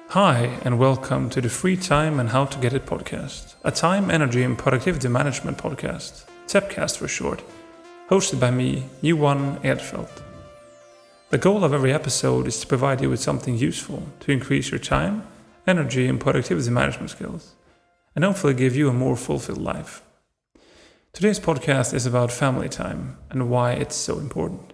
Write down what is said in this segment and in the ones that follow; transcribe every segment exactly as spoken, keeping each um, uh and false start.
Hi, and welcome to the Free Time and How to Get It podcast, a time, energy, and productivity management podcast, TEPcast for short, hosted by me, Johan Edfeldt. The goal of every episode is to provide you with something useful to increase your time, energy, and productivity management skills, and hopefully give you a more fulfilled life. Today's podcast is about family time and why it's so important.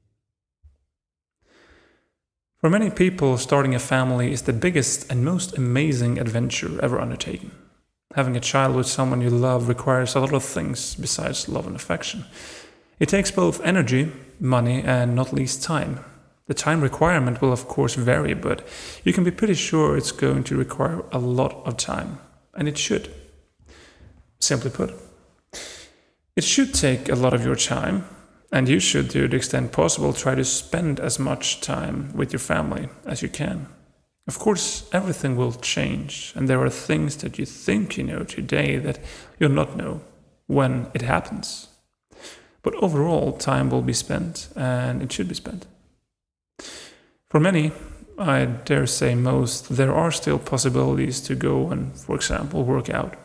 For many people, starting a family is the biggest and most amazing adventure ever undertaken. Having a child with someone you love requires a lot of things besides love and affection. It takes both energy, money, and not least time. The time requirement will of course vary, but you can be pretty sure it's going to require a lot of time, and it should. Simply put, it should take a lot of your time. And you should, to the extent possible, try to spend as much time with your family as you can. Of course, everything will change, and there are things that you think you know today that you'll not know when it happens. But overall, time will be spent, and it should be spent. For many, I dare say most, there are still possibilities to go and, for example, work out.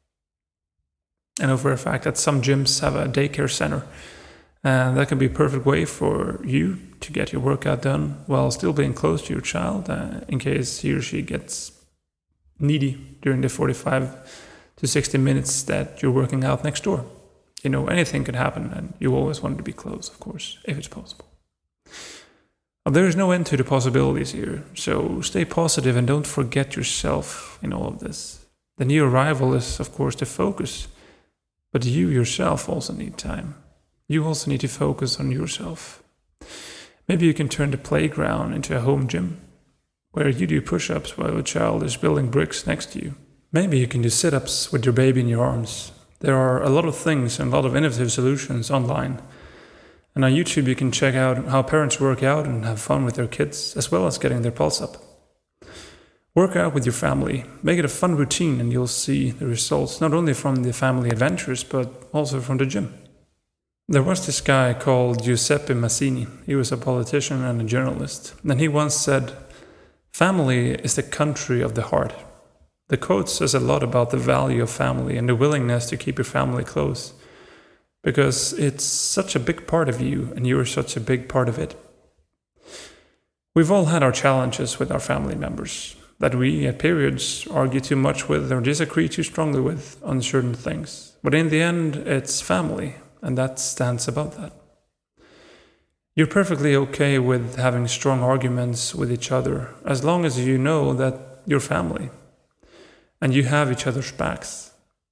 I know for a fact that some gyms have a daycare center. And that can be a perfect way for you to get your workout done while still being close to your child uh, in case he or she gets needy during the forty-five to sixty minutes that you're working out next door. You know, anything could happen, and you always want to be close, of course, if it's possible. Well, there is no end to the possibilities here, so stay positive and don't forget yourself in all of this. The new arrival is, of course, the focus, but you yourself also need time. You also need to focus on yourself. Maybe you can turn the playground into a home gym, where you do push-ups while your child is building bricks next to you. Maybe you can do sit-ups with your baby in your arms. There are a lot of things and a lot of innovative solutions online. And on YouTube you can check out how parents work out and have fun with their kids, as well as getting their pulse up. Work out with your family. Make it a fun routine, and you'll see the results not only from the family adventures, but also from the gym. There was this guy called Giuseppe Mazzini. He was a politician and a journalist. And he once said, "Family is the country of the heart." The quote says a lot about the value of family and the willingness to keep your family close. Because it's such a big part of you, and you're such a big part of it. We've all had our challenges with our family members, that we at periods argue too much with or disagree too strongly with on certain things. But in the end, it's family. And that stands above that. You're perfectly okay with having strong arguments with each other, as long as you know that you're family and you have each other's backs.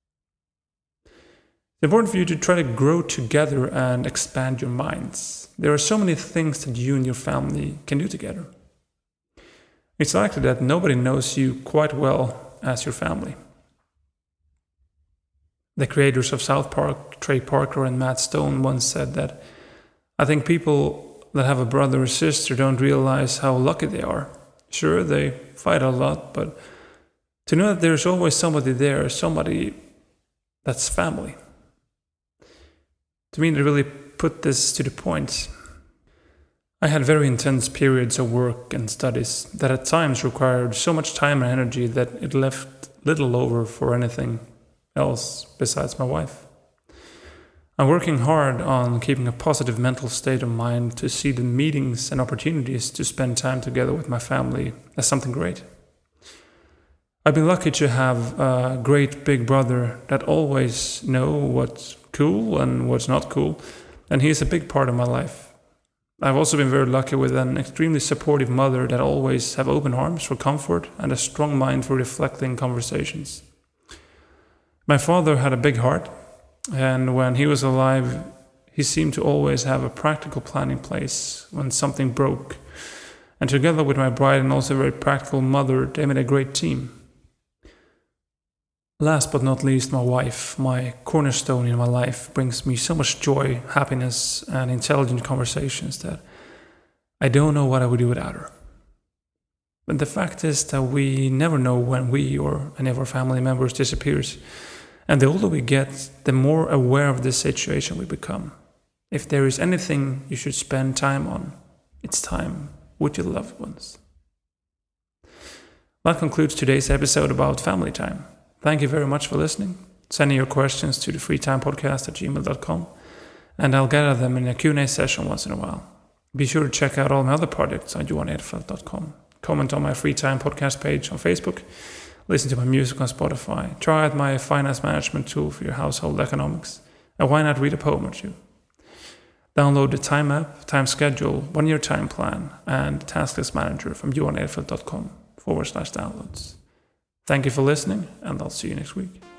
It's important for you to try to grow together and expand your minds. There are so many things that you and your family can do together. It's likely that nobody knows you quite well as your family. The creators of South Park, Trey Parker and Matt Stone, once said that, "I think people that have a brother or sister don't realize how lucky they are. Sure, they fight a lot, but to know that there's always somebody there, somebody that's family." To me, they really put this to the point. I had very intense periods of work and studies that at times required so much time and energy that it left little over for anything else besides my wife. I'm working hard on keeping a positive mental state of mind to see the meetings and opportunities to spend time together with my family as something great. I've been lucky to have a great big brother that always knows what's cool and what's not cool, and he is a big part of my life. I've also been very lucky with an extremely supportive mother that always have open arms for comfort and a strong mind for reflecting conversations. My father had a big heart, and when he was alive, he seemed to always have a practical plan in place when something broke. And together with my bride and also a very practical mother, they made a great team. Last but not least, my wife, my cornerstone in my life, brings me so much joy, happiness, and intelligent conversations that I don't know what I would do without her. But the fact is that we never know when we or any of our family members disappears. And the older we get, the more aware of this situation we become. If there is anything you should spend time on, it's time with your loved ones. That concludes today's episode about family time. Thank you very much for listening. Send your questions to the freetimepodcast at gmail dot com, and I'll gather them in a Q and A session once in a while. Be sure to check out all my other projects on johan edfeldt dot com. Comment on my Free Time podcast page on Facebook. Listen to my music on Spotify. Try out my finance management tool for your household economics. And why not read a poem or two? Download the Time app, Time Schedule, One-Year Time Plan, and Task List Manager from johan edfeldt dot com forward slash downloads. Thank you for listening, and I'll see you next week.